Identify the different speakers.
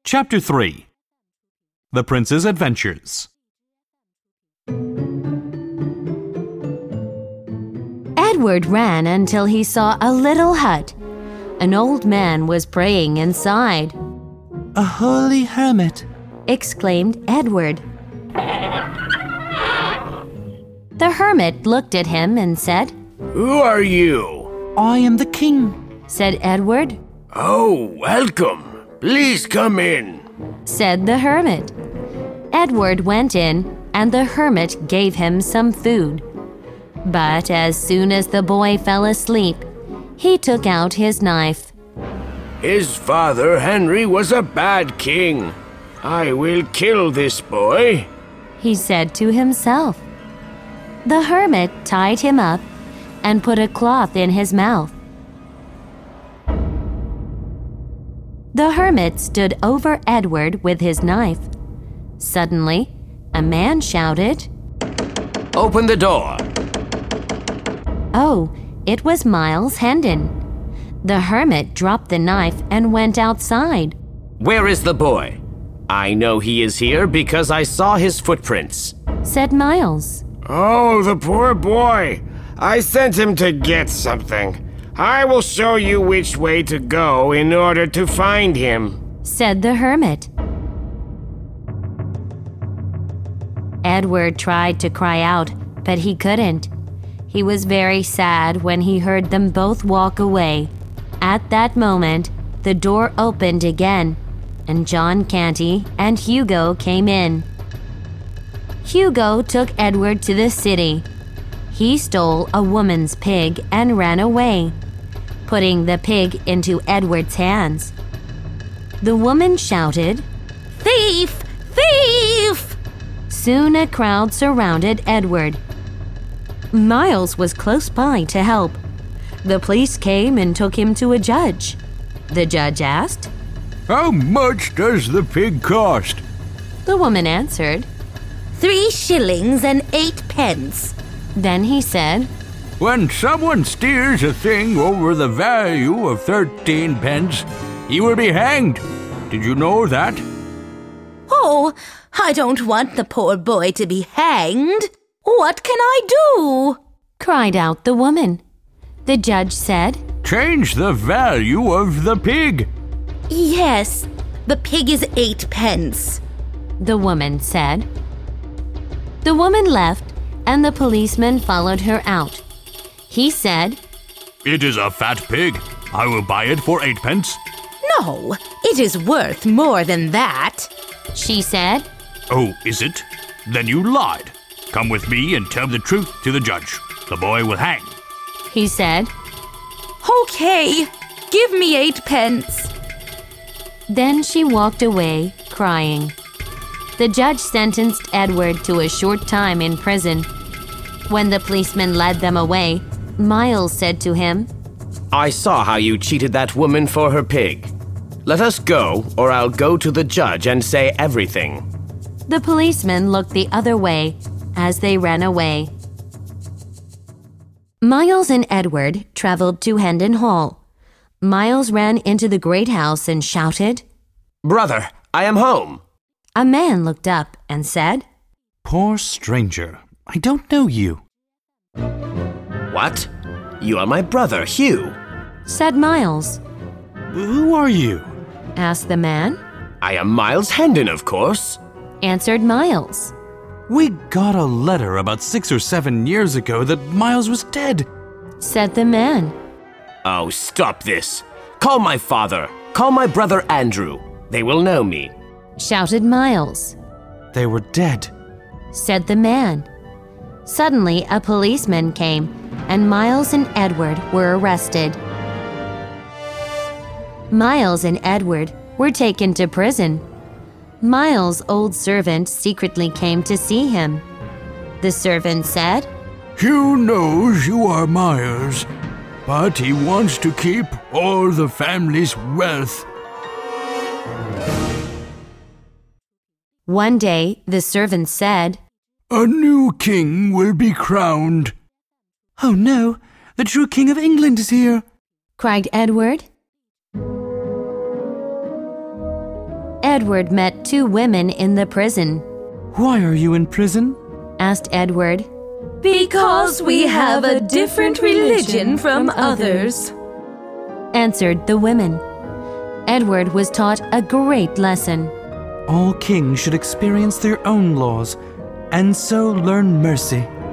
Speaker 1: Chapter 3 The Prince's Adventures.
Speaker 2: Edward ran until he saw a little hut. An old man was praying inside.
Speaker 3: "A holy hermit,"
Speaker 2: exclaimed Edward. The hermit looked at him and said,
Speaker 4: "Who are you?"
Speaker 3: "I am the king,"
Speaker 2: said Edward.
Speaker 4: "Oh, welcome. Please come in,"
Speaker 2: said the hermit. Edward went in, and the hermit gave him some food. But as soon as the boy fell asleep, he took out his knife.
Speaker 4: "His father Henry was a bad king. I will kill this boy,"
Speaker 2: he said to himself. The hermit tied him up and put a cloth in his mouth. The hermit stood over Edward with his knife. Suddenly, a man shouted,
Speaker 4: "Open the door."
Speaker 2: Oh, it was Miles Hendon. The hermit dropped the knife and went outside.
Speaker 4: "Where is the boy? I know he is here because I saw his footprints,"
Speaker 2: said Miles.
Speaker 4: "Oh, the poor boy. I sent him to get something. I will show you which way to go in order to find him,"
Speaker 2: said the hermit. Edward tried to cry out, but he couldn't. He was very sad when he heard them both walk away. At that moment, the door opened again, and John Canty and Hugo came in. Hugo took Edward to the city. He stole a woman's pig and ran away, putting the pig into Edward's hands. The woman shouted, "Thief! Thief!" Soon a crowd surrounded Edward. Miles was close by to help. The police came and took him to a judge. The judge asked,
Speaker 5: "How much does the pig cost?"
Speaker 2: The woman answered,
Speaker 6: 3 shillings and 8 pence.
Speaker 2: Then he said,
Speaker 5: "When someone steals a thing over the value of 13 pence, he will be hanged. Did you know that?"
Speaker 6: Oh, I don't want the poor boy to be hanged. What can I do?"
Speaker 2: cried out the woman. The judge said,
Speaker 5: "Change the value of the pig."
Speaker 6: "Yes, the pig is 8 pence.
Speaker 2: The woman said. The woman left, and the policeman followed her out. He said,
Speaker 1: It is a fat pig. I will buy it for 8 pence.
Speaker 6: No, it is worth more than that."
Speaker 2: She said.
Speaker 1: Oh, is it? Then you lied. Come with me and tell the truth to the judge. The boy will hang.
Speaker 2: He said.
Speaker 6: "Okay, give me 8 pence."
Speaker 2: Then she walked away, crying. The judge sentenced Edward to a short time in prison. When the policeman led them away, Miles said to him,
Speaker 4: "I saw how you cheated that woman for her pig. Let us go, or I'll go to the judge and say everything."
Speaker 2: The policeman looked the other way as they ran away. Miles and Edward traveled to Hendon Hall. Miles ran into the great house and shouted,
Speaker 4: "Brother, I am home."
Speaker 2: A man looked up and said,
Speaker 1: Poor stranger, I don't know you.
Speaker 4: "What? You are my brother, Hugh."
Speaker 2: said Miles.
Speaker 1: Who are you?
Speaker 2: Asked the man.
Speaker 4: "I am Miles Hendon, of course."
Speaker 2: Answered Miles.
Speaker 1: We got a letter about 6 or 7 years ago that Miles was dead.
Speaker 2: Said the man.
Speaker 4: "Oh, stop this. Call my father. Call my brother Andrew. They will know me."
Speaker 2: Shouted Miles.
Speaker 1: They were dead.
Speaker 2: Said the man. Suddenly, a policeman came, and Miles and Edward were arrested. Miles and Edward were taken to prison. Miles' old servant secretly came to see him. The servant said,
Speaker 5: "Hugh knows you are Miles, but he wants to keep all the family's wealth."
Speaker 2: One day, the servant said,
Speaker 5: "A new king will be crowned."
Speaker 3: "Oh no, the true King of England is here,"
Speaker 2: cried Edward. Edward met two women in the prison.
Speaker 3: Why are you in prison?
Speaker 2: Asked Edward.
Speaker 6: Because we have a different religion from others,
Speaker 2: answered the women. Edward was taught a great lesson.
Speaker 3: All kings should experience their own laws, and so learn mercy.